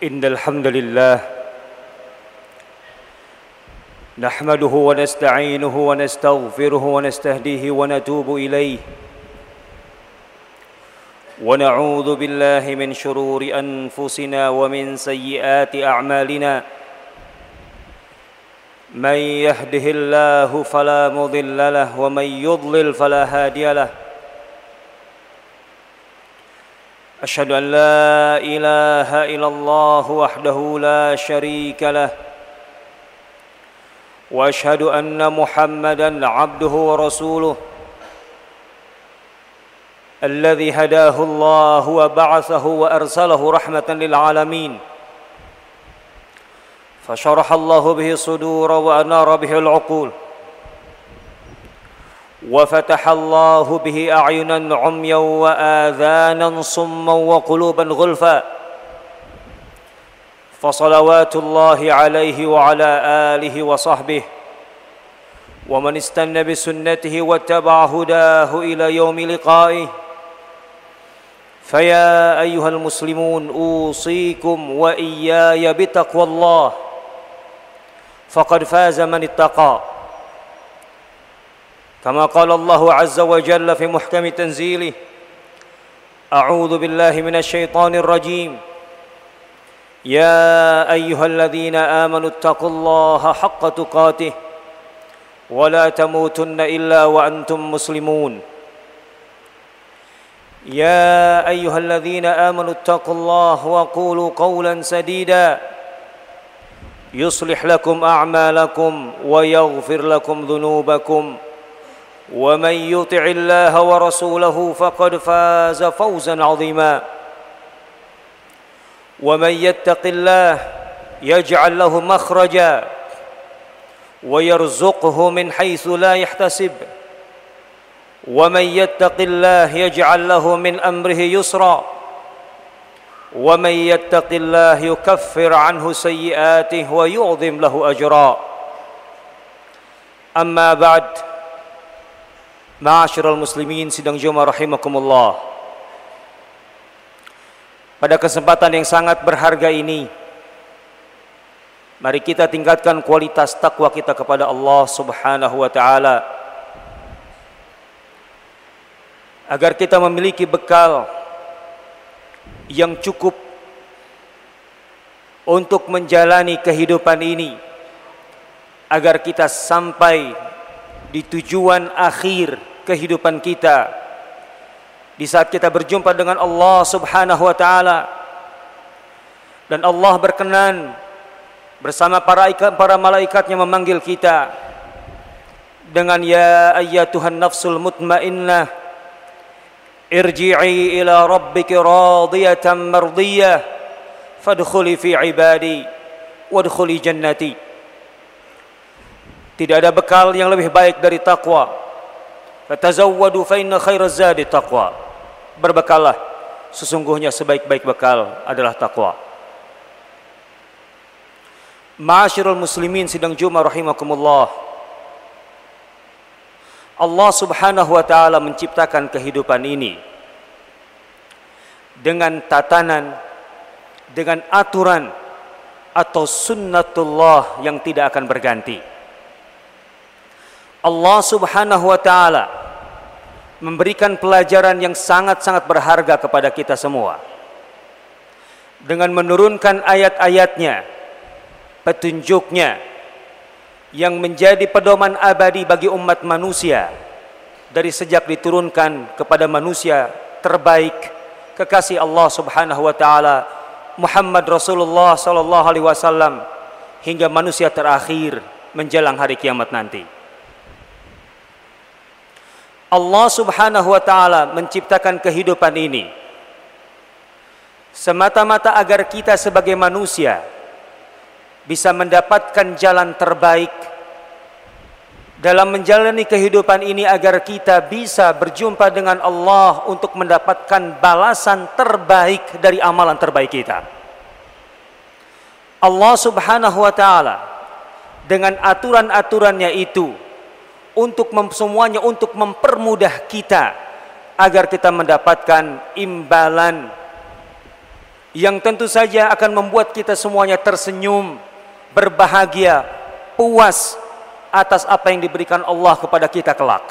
إن الحمد لله نحمده ونستعينه ونستغفره ونستهديه ونتوب إليه ونعوذ بالله من شرور أنفسنا ومن سيئات أعمالنا من يهده الله فلا مضل له ومن يضلل فلا هادي له أشهد أن لا إله إلا الله وحده لا شريك له وأشهد أن محمدًا عبده ورسوله الذي هداه الله وبعثه وأرسله رحمة للعالمين فشرح الله به الصدور وأنار به العقول وفتح الله به أعينا عميا وآذانا صما وقلوبا غلفا فصلوات الله عليه وعلى آله وصحبه ومن استنى بسنته واتبع هداه إلى يوم لقائه فيا أيها المسلمون أوصيكم وإياي بتقوى الله فقد فاز من اتقى كما قال الله عز وجل في محكم تنزيله أعوذ بالله من الشيطان الرجيم يا أيها الذين آمنوا اتقوا الله حق تقاته ولا تموتن إلا وأنتم مسلمون يا أيها الذين آمنوا اتقوا الله وقولوا قولا سديدا يصلح لكم أعمالكم ويغفر لكم ذنوبكم ومن يطع الله ورسوله فقد فاز فوزا عظيما ومن يتق الله يجعل له مخرجا ويرزقه من حيث لا يحتسب ومن يتق الله يجعل له من أمره يسرا ومن يتق الله يكفر عنه سيئاته ويعظم له أجرا أما بعد Ma'asyiral muslimin sidang Jumat rahimakumullah. Pada kesempatan yang sangat berharga ini, mari kita tingkatkan kualitas takwa kita kepada Allah Subhanahu wa taala agar kita memiliki bekal yang cukup untuk menjalani kehidupan ini, agar kita sampai di tujuan akhir kehidupan kita di saat kita berjumpa dengan Allah Subhanahu wa taala dan Allah berkenan bersama para malaikatnya memanggil kita dengan ya ayyatuhan nafsul mutmainnah irji'i ila rabbiki radiyatan mardiyah fadkhuli fi ibadi wadkhuli jannati. Tidak ada bekal yang lebih baik dari takwa. Fatazawwadu fa inna khairaz zadi taqwa. Berbekallah, sesungguhnya sebaik-baik bekal adalah takwa. Ma'asyiral muslimin sidang Jumat rahimakumullah. Allah Subhanahu wa taala menciptakan kehidupan ini dengan tatanan, dengan aturan atau sunnatullah yang tidak akan berganti. Allah Subhanahu wa taala memberikan pelajaran yang sangat-sangat berharga kepada kita semua dengan menurunkan ayat-ayatnya, petunjuknya yang menjadi pedoman abadi bagi umat manusia dari sejak diturunkan kepada manusia terbaik, kekasih Allah Subhanahu wa taala Muhammad Rasulullah sallallahu alaihi wasallam hingga manusia terakhir menjelang hari kiamat nanti. Allah Subhanahu wa taala menciptakan kehidupan ini semata-mata agar kita sebagai manusia bisa mendapatkan jalan terbaik dalam menjalani kehidupan ini, agar kita bisa berjumpa dengan Allah untuk mendapatkan balasan terbaik dari amalan terbaik kita. Allah Subhanahu wa taala dengan aturan-aturannya itu semuanya untuk mempermudah kita agar kita mendapatkan imbalan yang tentu saja akan membuat kita semuanya tersenyum, berbahagia, puas atas apa yang diberikan Allah kepada kita kelak.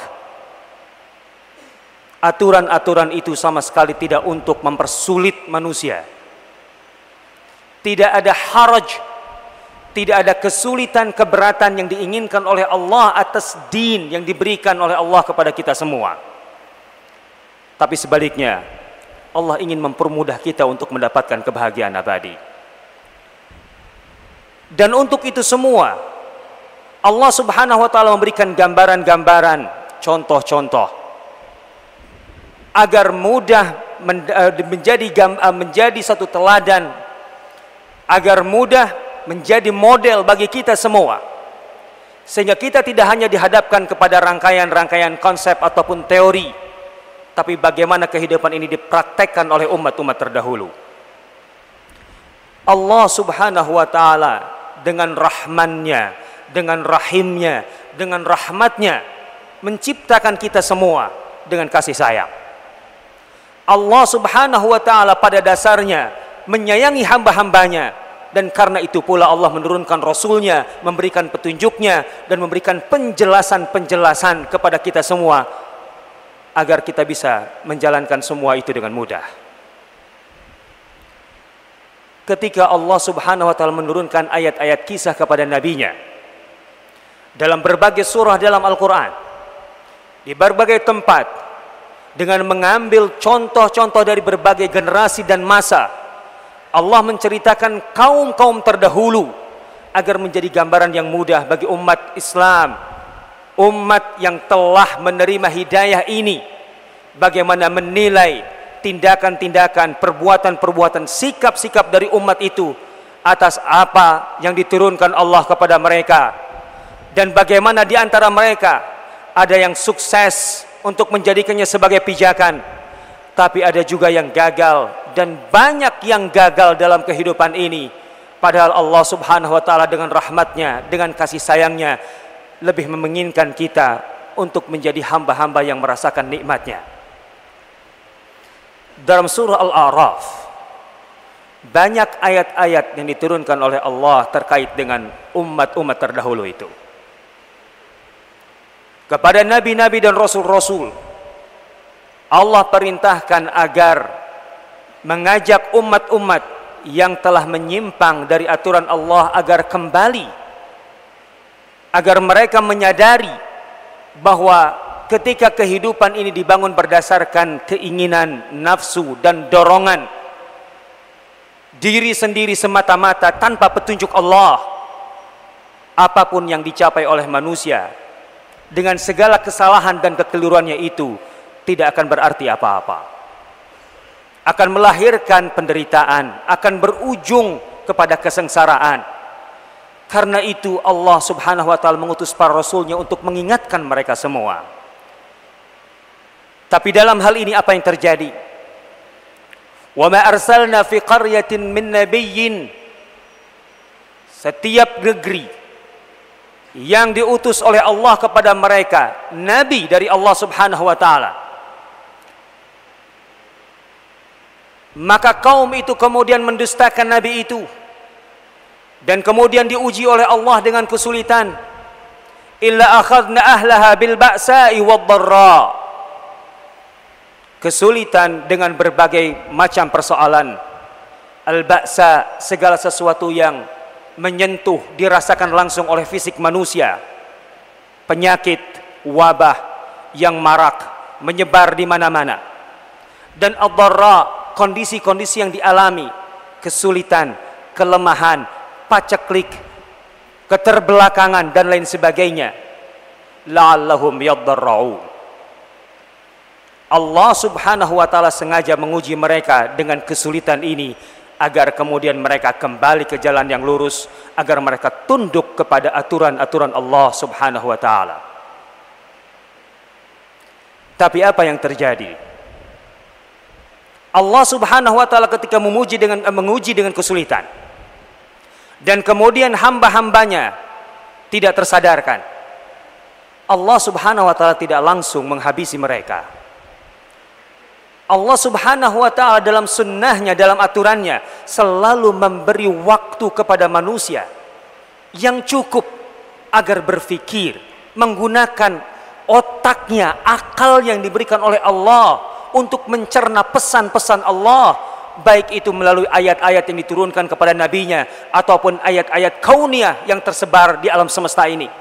Aturan-aturan itu sama sekali tidak untuk mempersulit manusia. Tidak ada haraj, tidak ada kesulitan, keberatan yang diinginkan oleh Allah atas din yang diberikan oleh Allah kepada kita semua. Tapi sebaliknya, Allah ingin mempermudah kita untuk mendapatkan kebahagiaan abadi. Dan untuk itu semua, Allah Subhanahu wa taala memberikan gambaran-gambaran, contoh-contoh agar mudah menjadi satu teladan, agar mudah menjadi model bagi kita semua, sehingga kita tidak hanya dihadapkan kepada rangkaian-rangkaian konsep ataupun teori, tapi bagaimana kehidupan ini dipraktekkan oleh umat-umat terdahulu. Allah Subhanahu wa taala dengan rahmannya, dengan rahimnya, dengan rahmatnya menciptakan kita semua dengan kasih sayang. Allah Subhanahu wa taala pada dasarnya menyayangi hamba-hambanya, dan karena itu pula Allah menurunkan Rasulnya, memberikan petunjuknya, dan memberikan penjelasan-penjelasan kepada kita semua agar kita bisa menjalankan semua itu dengan mudah. Ketika Allah Subhanahu wa taala menurunkan ayat-ayat kisah kepada nabinya dalam berbagai surah dalam Al-Quran, di berbagai tempat, dengan mengambil contoh-contoh dari berbagai generasi dan masa, Allah menceritakan kaum-kaum terdahulu agar menjadi gambaran yang mudah bagi umat Islam, umat yang telah menerima hidayah ini, bagaimana menilai tindakan-tindakan, perbuatan-perbuatan, sikap-sikap dari umat itu atas apa yang diturunkan Allah kepada mereka, dan bagaimana di antara mereka ada yang sukses untuk menjadikannya sebagai pijakan, tapi ada juga yang gagal, dan banyak yang gagal dalam kehidupan ini. Padahal Allah Subhanahu wa taala dengan rahmatnya, dengan kasih sayangnya lebih menginginkan kita untuk menjadi hamba-hamba yang merasakan nikmatnya. Dalam surah Al-A'raf banyak ayat-ayat yang diturunkan oleh Allah terkait dengan umat-umat terdahulu itu. Kepada nabi-nabi dan rasul-rasul, Allah perintahkan agar mengajak umat-umat yang telah menyimpang dari aturan Allah agar kembali, agar mereka menyadari bahwa ketika kehidupan ini dibangun berdasarkan keinginan, nafsu, dan dorongan diri sendiri semata-mata tanpa petunjuk Allah, apapun yang dicapai oleh manusia dengan segala kesalahan dan kekeliruannya itu tidak akan berarti apa-apa, akan melahirkan penderitaan, akan berujung kepada kesengsaraan. Karena itu Allah Subhanahu wa taala mengutus para rasulnya untuk mengingatkan mereka semua. Tapi dalam hal ini apa yang terjadi? Wa ma arsalna fi qaryatin min nabiyyin. Setiap negeri yang diutus oleh Allah kepada mereka nabi dari Allah Subhanahu wa taala, maka kaum itu kemudian mendustakan nabi itu, dan kemudian diuji oleh Allah dengan kesulitan. Illa akhadna ahlaha bil ba'sa'i wad dharra. Kesulitan dengan berbagai macam persoalan. Al-ba'sa, segala sesuatu yang menyentuh, dirasakan langsung oleh fisik manusia. Penyakit, wabah yang marak, menyebar di mana-mana. Dan ad-dharra, kondisi-kondisi yang dialami, kesulitan, kelemahan, paceklik, keterbelakangan, dan lain sebagainya. La'allahum yadharra'un. Allah Subhanahu wa taala sengaja menguji mereka dengan kesulitan ini agar kemudian mereka kembali ke jalan yang lurus, agar mereka tunduk kepada aturan-aturan Allah Subhanahu wa taala. Tapi apa yang terjadi? Allah Subhanahu wa taala ketika menguji dengan kesulitan, dan kemudian hamba-hambanya tidak tersadarkan, Allah Subhanahu wa taala tidak langsung menghabisi mereka. Allah Subhanahu wa ta'ala dalam sunnahnya, dalam aturannya selalu memberi waktu kepada manusia yang cukup agar berpikir, menggunakan otaknya, akal yang diberikan oleh Allah untuk mencerna pesan-pesan Allah, baik itu melalui ayat-ayat yang diturunkan kepada nabinya ataupun ayat-ayat kauniyah yang tersebar di alam semesta ini.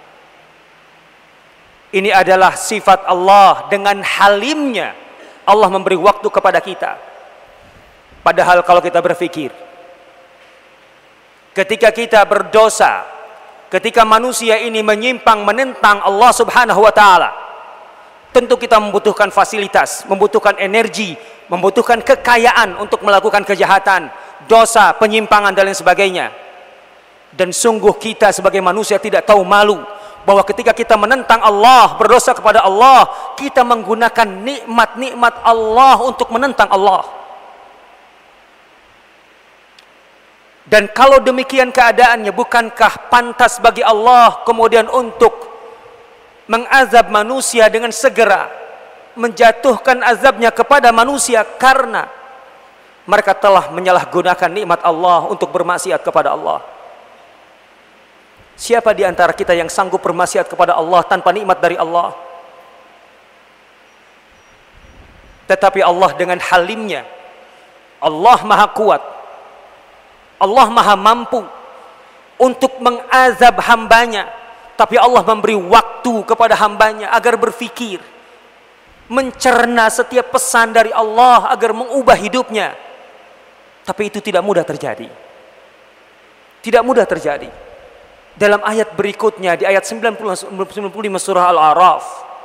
Ini adalah sifat Allah. Dengan halimnya Allah memberi waktu kepada kita. Padahal kalau kita berpikir, ketika kita berdosa, ketika manusia ini menyimpang menentang Allah Subhanahu wa ta'ala, tentu kita membutuhkan fasilitas, membutuhkan energi, membutuhkan kekayaan untuk melakukan kejahatan, dosa, penyimpangan dan lain sebagainya. Dan sungguh kita sebagai manusia tidak tahu malu bahwa ketika kita menentang Allah, berdosa kepada Allah, kita menggunakan nikmat-nikmat Allah untuk menentang Allah. Dan kalau demikian keadaannya, bukankah pantas bagi Allah kemudian untuk mengazab manusia dengan segera, menjatuhkan azabnya kepada manusia karena mereka telah menyalahgunakan nikmat Allah untuk bermaksiat kepada Allah. Siapa di antara kita yang sanggup bermaksiat kepada Allah tanpa nikmat dari Allah? Tetapi Allah dengan halimnya, Allah maha kuat, Allah maha mampu untuk mengazab hambanya. Tapi Allah memberi waktu kepada hambanya agar berfikir, mencerna setiap pesan dari Allah agar mengubah hidupnya. Tapi itu tidak mudah terjadi. Tidak mudah terjadi. Dalam ayat berikutnya, di ayat 95 surah Al-A'raf,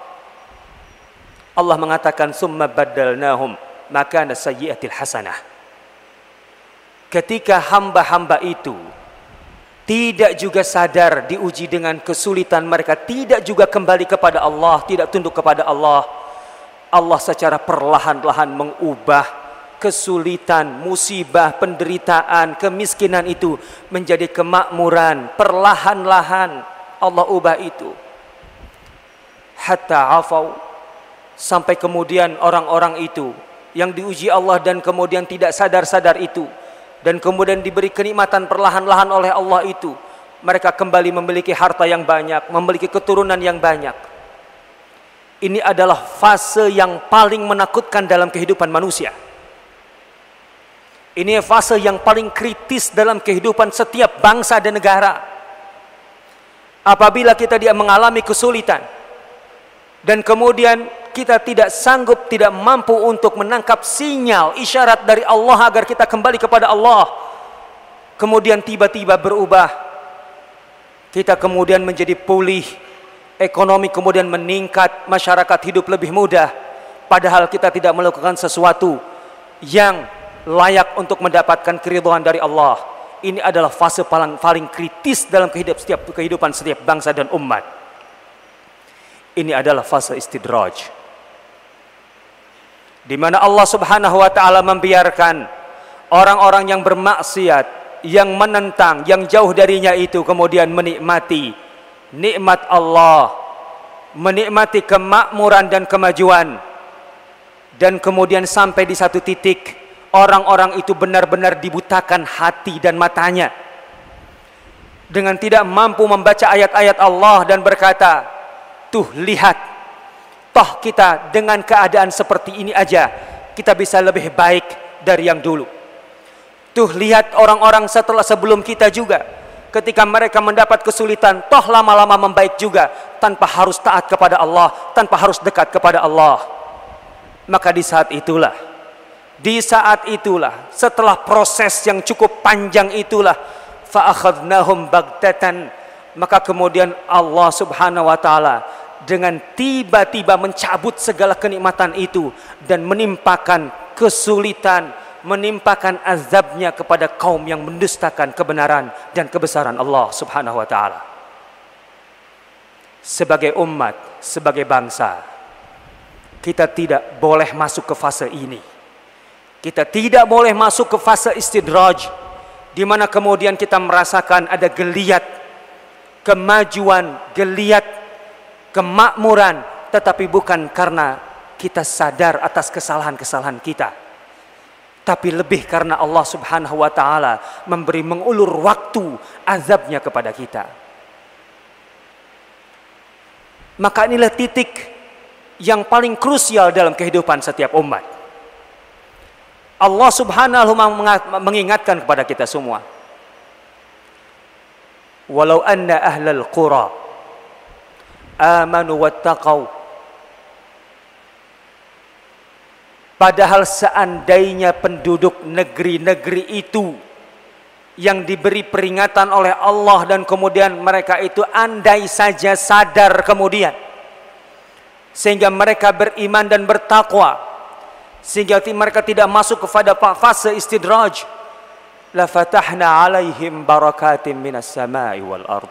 Allah mengatakan, "Tsumma baddalnahum makana sayyi'atil hasanah." Ketika hamba-hamba itu tidak juga sadar diuji dengan kesulitan mereka, tidak juga kembali kepada Allah, tidak tunduk kepada Allah, Allah secara perlahan-lahan mengubah kesulitan, musibah, penderitaan, kemiskinan itu menjadi kemakmuran. Perlahan-lahan Allah ubah itu. Hatta afau, sampai kemudian orang-orang itu yang diuji Allah dan kemudian tidak sadar-sadar itu, dan kemudian diberi kenikmatan perlahan-lahan oleh Allah itu, mereka kembali memiliki harta yang banyak, memiliki keturunan yang banyak. Ini adalah fase yang paling menakutkan dalam kehidupan manusia. Ini fase yang paling kritis dalam kehidupan setiap bangsa dan negara. Apabila kita mengalami kesulitan dan kemudian kita tidak sanggup, tidak mampu untuk menangkap sinyal, isyarat dari Allah agar kita kembali kepada Allah, kemudian tiba-tiba berubah, kita kemudian menjadi pulih, ekonomi kemudian meningkat, masyarakat hidup lebih mudah, padahal kita tidak melakukan sesuatu yang layak untuk mendapatkan keridhaan dari Allah. Ini adalah fase paling kritis dalam kehidupan setiap bangsa dan umat. Ini adalah fase istidraj, di mana Allah Subhanahu wa ta'ala membiarkan orang-orang yang bermaksiat, yang menentang, yang jauh darinya itu kemudian menikmati nikmat Allah, menikmati kemakmuran dan kemajuan, dan kemudian sampai di satu titik orang-orang itu benar-benar dibutakan hati dan matanya dengan tidak mampu membaca ayat-ayat Allah dan berkata, "Tuh lihat, toh kita dengan keadaan seperti ini aja kita bisa lebih baik dari yang dulu. Tuh lihat orang-orang sebelum kita juga, ketika mereka mendapat kesulitan, toh lama-lama membaik juga tanpa harus taat kepada Allah, tanpa harus dekat kepada Allah." Maka di saat itulah, setelah proses yang cukup panjang itulah, fa'akhadnahum baghtatan, maka kemudian Allah Subhanahu wa ta'ala dengan tiba-tiba mencabut segala kenikmatan itu dan menimpakan kesulitan, menimpakan azabnya kepada kaum yang mendustakan kebenaran dan kebesaran Allah Subhanahu wa ta'ala. Sebagai umat, sebagai bangsa, kita tidak boleh masuk ke fase ini. Kita tidak boleh masuk ke fase istidraj, di mana kemudian kita merasakan ada geliat kemajuan, geliat kemakmuran, tetapi bukan karena kita sadar atas kesalahan-kesalahan kita, tapi lebih karena Allah Subhanahu wa taala memberi mengulur waktu azabnya kepada kita. Maka inilah titik yang paling krusial dalam kehidupan setiap umat. Allah Subhanahu wa taala mengingatkan kepada kita semua, walau anna ahlal qura amanu wattaqau. Padahal seandainya penduduk negeri-negeri itu yang diberi peringatan oleh Allah dan kemudian mereka itu andai saja sadar kemudian, sehingga mereka beriman dan bertakwa, sehingga mereka tidak masuk kepada fase istidraj, la fatahna alaihim barakatim minas samai wal ard.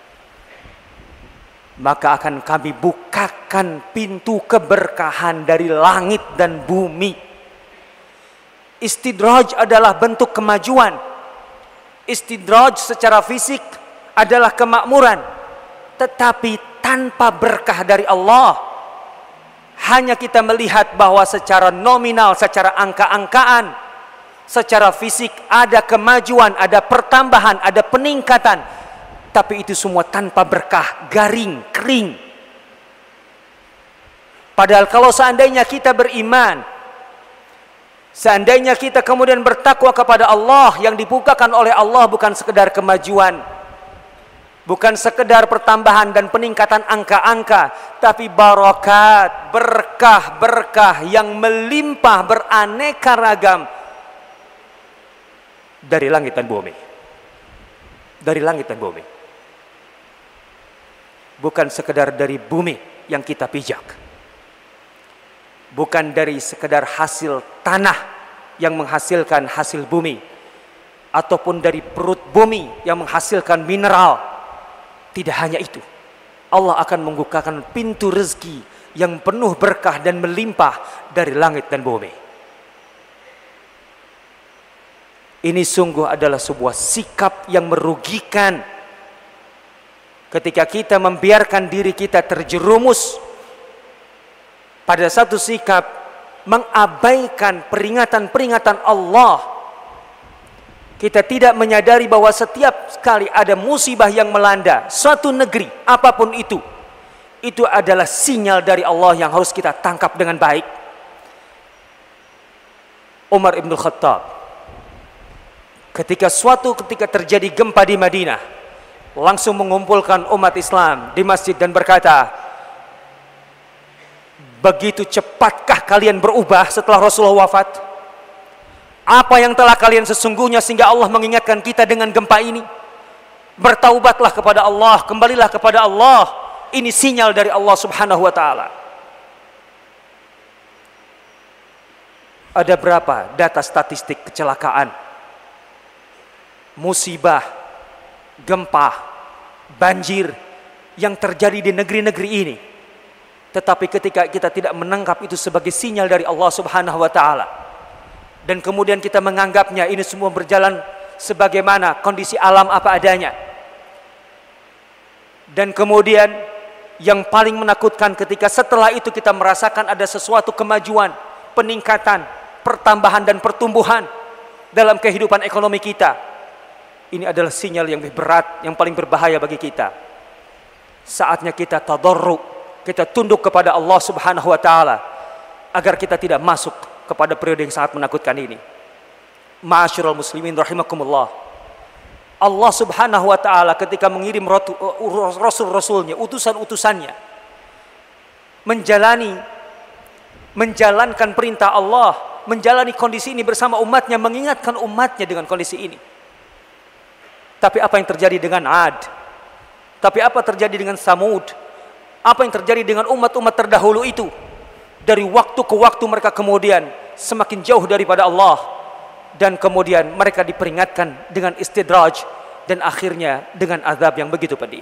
Maka akan kami bukakan pintu keberkahan dari langit dan bumi. Istidraj adalah bentuk kemajuan. Istidraj secara fisik adalah kemakmuran, tetapi tanpa berkah dari Allah. Hanya kita melihat bahwa secara nominal, secara angka-angkaan, secara fisik ada kemajuan, ada pertambahan, ada peningkatan, tapi itu semua tanpa berkah, garing, kering. Padahal kalau seandainya kita beriman, seandainya kita kemudian bertakwa kepada Allah, yang dibukakan oleh Allah bukan sekedar kemajuan, bukan sekedar pertambahan dan peningkatan angka-angka, tapi barakat, berkah-berkah yang melimpah beraneka ragam dari langit dan bumi. Dari langit dan bumi. Bukan sekedar dari bumi yang kita pijak. Bukan dari sekedar hasil tanah yang menghasilkan hasil bumi, ataupun dari perut bumi yang menghasilkan mineral. Tidak hanya itu, Allah akan membukakan pintu rezeki yang penuh berkah dan melimpah dari langit dan bumi. Ini sungguh adalah sebuah sikap yang merugikan ketika kita membiarkan diri kita terjerumus pada satu sikap mengabaikan peringatan-peringatan Allah. Kita tidak menyadari bahwa setiap kali ada musibah yang melanda suatu negeri, apapun itu adalah sinyal dari Allah yang harus kita tangkap dengan baik. Umar ibn Khattab, ketika terjadi gempa di Madinah, langsung mengumpulkan umat Islam di masjid dan berkata, begitu cepatkah kalian berubah setelah Rasulullah wafat? Apa yang telah kalian sesungguhnya sehingga Allah mengingatkan kita dengan gempa ini? Bertaubatlah kepada Allah, kembalilah kepada Allah. Ini sinyal dari Allah Subhanahu wa taala. Ada berapa data statistik kecelakaan, musibah, gempa, banjir yang terjadi di negeri-negeri ini, tetapi ketika kita tidak menangkap itu sebagai sinyal dari Allah Subhanahu wa taala, dan kemudian kita menganggapnya ini semua berjalan sebagaimana kondisi alam apa adanya, dan kemudian yang paling menakutkan ketika setelah itu kita merasakan ada sesuatu kemajuan, peningkatan, pertambahan dan pertumbuhan dalam kehidupan ekonomi kita. Ini adalah sinyal yang lebih berat, yang paling berbahaya bagi kita. Saatnya kita tadarru, kita tunduk kepada Allah Subhanahu wa taala agar kita tidak masuk kepada periode yang sangat menakutkan ini. Ma'asyiral muslimin rahimakumullah. Allah Subhanahu wa taala ketika mengirim rasul-rasulnya, utusan-utusannya, menjalankan perintah Allah, menjalani kondisi ini bersama umatnya, mengingatkan umatnya dengan kondisi ini. Tapi apa yang terjadi dengan Ad? Tapi apa terjadi dengan Samud? Apa yang terjadi dengan umat-umat terdahulu itu? Dari waktu ke waktu mereka kemudian semakin jauh daripada Allah, dan kemudian mereka diperingatkan dengan istidraj, dan akhirnya dengan azab yang begitu pedih.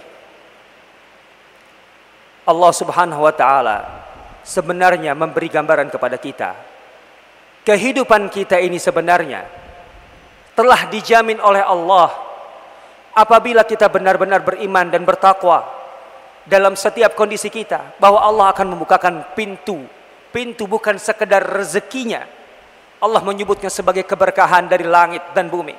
Allah Subhanahu wa taala sebenarnya memberi gambaran kepada kita. Kehidupan kita ini sebenarnya telah dijamin oleh Allah apabila kita benar-benar beriman dan bertakwa dalam setiap kondisi kita, bahwa Allah akan membukakan pintu pintu bukan sekedar rezekinya, Allah menyebutnya sebagai keberkahan dari langit dan bumi.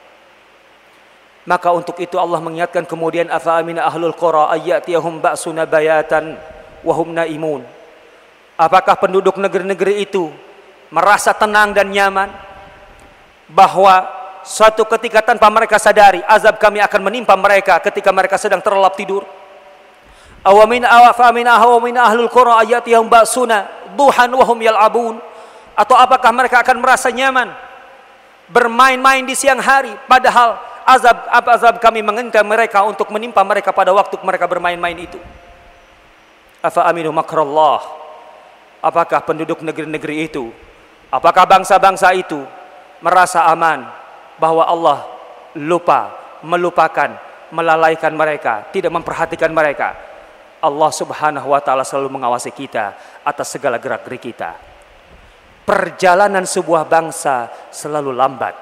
Maka untuk itu Allah mengingatkan kemudian, afa amina ahlul qura ayyatiyahum ba'suna bayatan wa hum naimun. Apakah penduduk negeri-negeri itu merasa tenang dan nyaman bahwa suatu ketika tanpa mereka sadari azab kami akan menimpa mereka ketika mereka sedang terlelap tidur? Awamin ahlul qura ayatihum ba'suna duhan wa hum yal'abun. Atau apakah mereka akan merasa nyaman bermain-main di siang hari padahal azab kami mengintai mereka untuk menimpa mereka pada waktu mereka bermain-main itu? Afa aminu makrallah. Apakah penduduk negeri-negeri itu, apakah bangsa-bangsa itu merasa aman bahwa Allah melupakan, melalaikan mereka, tidak memperhatikan mereka? Allah Subhanahu wa taala selalu mengawasi kita atas segala gerak-gerik kita. Perjalanan sebuah bangsa selalu lambat.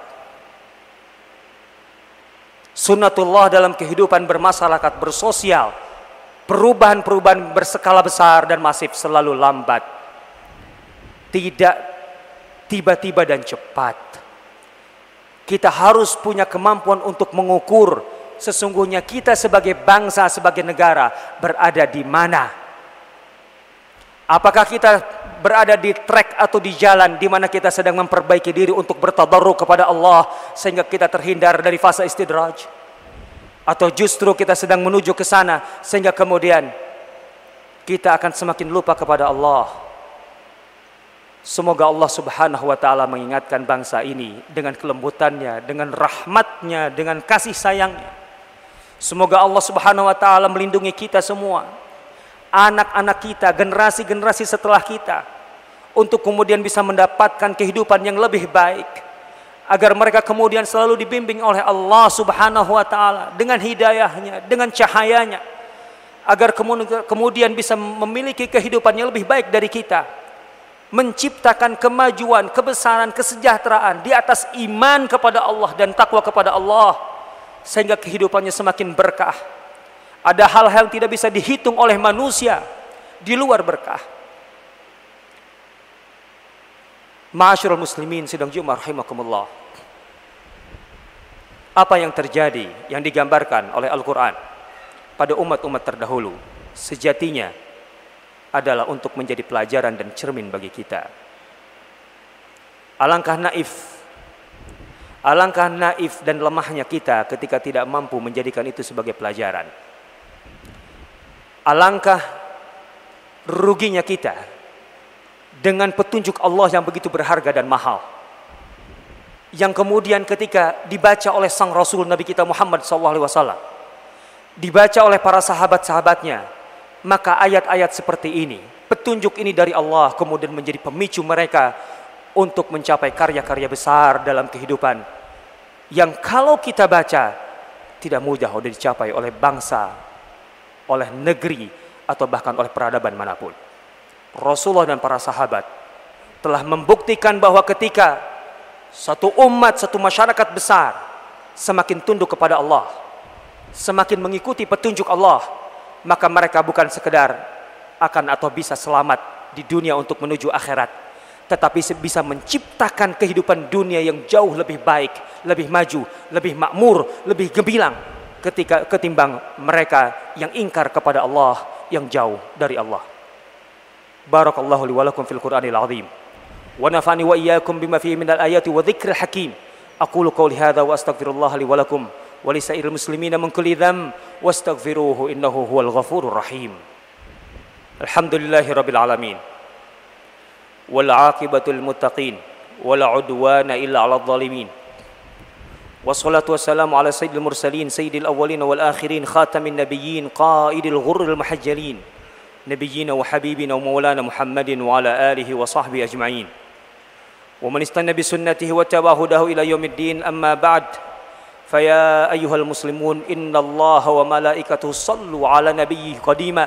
Sunnatullah dalam kehidupan bermasyarakat, bersosial, perubahan-perubahan berskala besar dan masif selalu lambat. Tidak tiba-tiba dan cepat. Kita harus punya kemampuan untuk mengukur sesungguhnya kita sebagai bangsa, sebagai negara berada di mana. Apakah kita berada di trek atau di jalan di mana kita sedang memperbaiki diri untuk bertadarruk kepada Allah sehingga kita terhindar dari fase istidraj, atau justru kita sedang menuju ke sana sehingga kemudian kita akan semakin lupa kepada Allah? Semoga Allah Subhanahu wa taala mengingatkan bangsa ini dengan kelembutannya, dengan rahmatnya, dengan kasih sayangnya. Semoga Allah Subhanahu wa taala melindungi kita semua, anak-anak kita, generasi-generasi setelah kita, untuk kemudian bisa mendapatkan kehidupan yang lebih baik, agar mereka kemudian selalu dibimbing oleh Allah Subhanahu wa taala dengan hidayahnya, dengan cahayanya, agar kemudian bisa memiliki kehidupan yang lebih baik dari kita, menciptakan kemajuan, kebesaran, kesejahteraan di atas iman kepada Allah dan takwa kepada Allah, sehingga kehidupannya semakin berkah. Ada hal-hal yang tidak bisa dihitung oleh manusia di luar berkah. Ma'asyiral muslimin sidang Jumat rahimakumullah. Apa yang terjadi, yang digambarkan oleh Al-Quran pada umat-umat terdahulu, sejatinya adalah untuk menjadi pelajaran dan cermin bagi kita. Alangkah naif dan lemahnya kita ketika tidak mampu menjadikan itu sebagai pelajaran. Alangkah ruginya kita dengan petunjuk Allah yang begitu berharga dan mahal, yang kemudian ketika dibaca oleh sang Rasul Nabi kita Muhammad SAW, dibaca oleh para sahabat-sahabatnya, maka ayat-ayat seperti ini, petunjuk ini dari Allah kemudian menjadi pemicu mereka untuk mencapai karya-karya besar dalam kehidupan yang kalau kita baca tidak mudah untuk dicapai oleh bangsa, oleh negeri, atau bahkan oleh peradaban manapun. Rasulullah dan para sahabat telah membuktikan bahwa ketika satu umat, satu masyarakat besar semakin tunduk kepada Allah, semakin mengikuti petunjuk Allah, maka mereka bukan sekedar akan atau bisa selamat di dunia untuk menuju akhirat, tetapi bisa menciptakan kehidupan dunia yang jauh lebih baik, lebih maju, lebih makmur, lebih gemilang ketimbang mereka yang ingkar kepada Allah, yang jauh dari Allah. Barakallahu li wa lakum fil Qur'anil azim wa nafa'ani wa iyyakum bima fihi minal ayati wa dzikril hakim. Aqulu qawli hadza wa astaghfirullah li wa lakum wa li sa'iril muslimina min kulli dzamb wastaghfiruhu innahu huwal ghafurur rahim. Alhamdulillahi rabbil alamin wal 'aqibatul muttaqin wala 'udwana illa 'alal zalimin. Wassalatu wassalamu ala sayyidil mursalin sayyidil awwalin wal akhirin khatamin nabiyyin qaidil ghurril muhajjalin nabiyyina wa habibina wa maulana Muhammadin wa ala alihi wa sahbihi ajma'in wa man istanna bi sunnatihi wa tabi'a hudahu ila yaumiddin. Amma ba'd. فيا أيها المسلمون إن الله وملائكته صلوا على نبيه قديما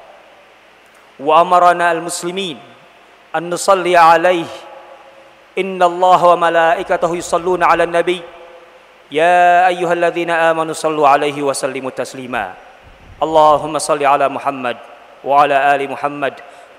وأمرنا المسلمين أن نصلي عليه. إن الله وملائكته يصلون على النبي يا أيها الذين آمنوا صلوا عليه وسلموا تسليما. اللهم صل على محمد وعلى آل محمد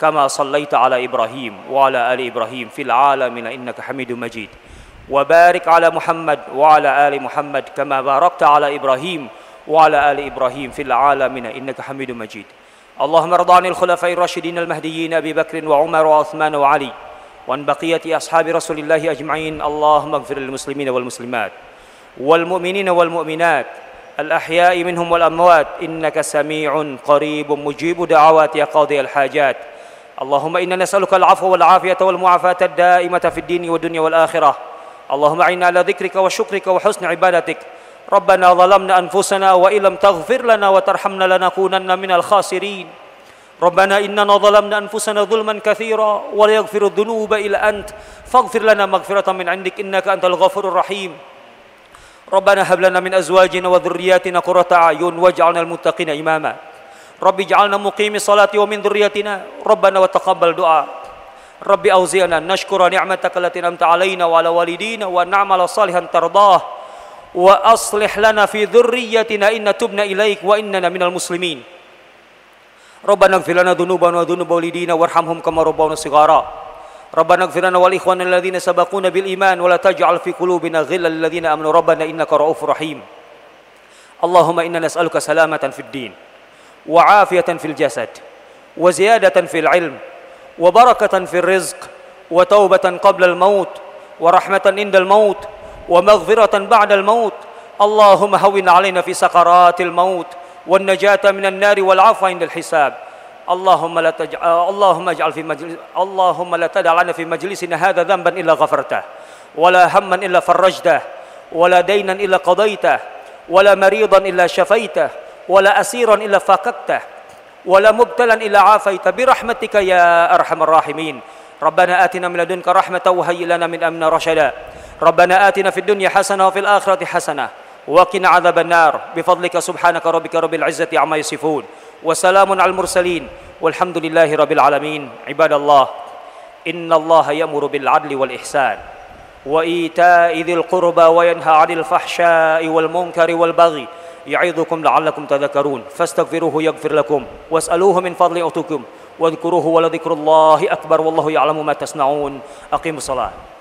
كما صليت على إبراهيم وعلى آل إبراهيم في العالمين إنك حميد مجيد وبارك على محمد وعلى آل محمد كما باركت على إبراهيم وعلى آل إبراهيم في العالمين إنك حميد مجيد اللهم ارض عن الخلفاء الراشدين المهديين أبي بكر وعمر وعثمان وعلي وعن بقية أصحاب رسول الله أجمعين اللهم اغفر للمسلمين والمسلمات والمؤمنين والمؤمنات الأحياء منهم والأموات إنك سميع قريب مجيب دعوات يا قاضي الحاجات اللهم إنا نسألك العفو والعافية والمعافاة الدائمة في الدين والدنيا والآخرة اللهم أعنا على ذكرك وشكرك وحسن عبادتك ربنا ظلمنا أنفسنا وإن لم تغفر لنا وترحمنا لنكونن من الخاسرين ربنا إننا ظلمنا أنفسنا ظلما كثيرا ولا يغفر الذنوب إلا أنت فاغفر لنا مغفرة من عندك إنك أنت الغفور الرحيم ربنا هب لنا من أزواجنا وذرياتنا قرة أعين واجعلنا المتقين إماما رب اجعلنا مقيم الصلاة ومن ذريتنا ربنا وتقبل دعاء رب أوزعنا نشكر نعمتك التي أنعمت علينا وعلى والدينا وأن نعمل صالحا ترضاه وأصلح لنا في ذريتنا إن تبنا إليك وإننا من المسلمين ربنا اغفر لنا ذنوبنا وذنوب والدينا وارحمهم كما ربونا صغارا ربنا اغفر لنا ولإخواننا الذين سبقونا بالإيمان ولا تجعل في قلوبنا غلا للذين آمنوا ربنا إنك رؤوف رحيم اللهم إنا نسألك سلامة في الدين وعافية في الجسد وزيادة في العلم وبركة في الرزق وتوبة قبل الموت ورحمة عند الموت ومغفرة بعد الموت اللهم هون علينا في سكرات الموت والنجاة من النار والعفو عند الحساب اللهم لا تدع لنا في مجلسنا هذا ذنبا إلا غفرته ولا هما إلا فرجته ولا دينا إلا قضيته ولا مريضا إلا شفيته ولا أسيرا إلا فككته ولا مبتلا إلا عافيته برحمتك يا أرحم الراحمين ربنا آتنا من لدنك رحمة وهيئ لنا من أمرنا رشدا ربنا آتنا في الدنيا حسنة وفي الآخرة حسنة وقنا عذاب النار بفضلك سبحانك ربك رب العزة عما يصفون وسلام على المرسلين والحمد لله رب العالمين عباد الله إن الله يأمر بالعدل والإحسان وإيتاء ذي القربى وينهى عن الفحشاء والمنكر والبغي يعظكم لعلكم تذكرون فاستغفروه يغفر لكم واسألوه من فضل يؤتكم واذكروه ولذكر الله أكبر والله يعلم ما تصنعون أقيموا الصلاة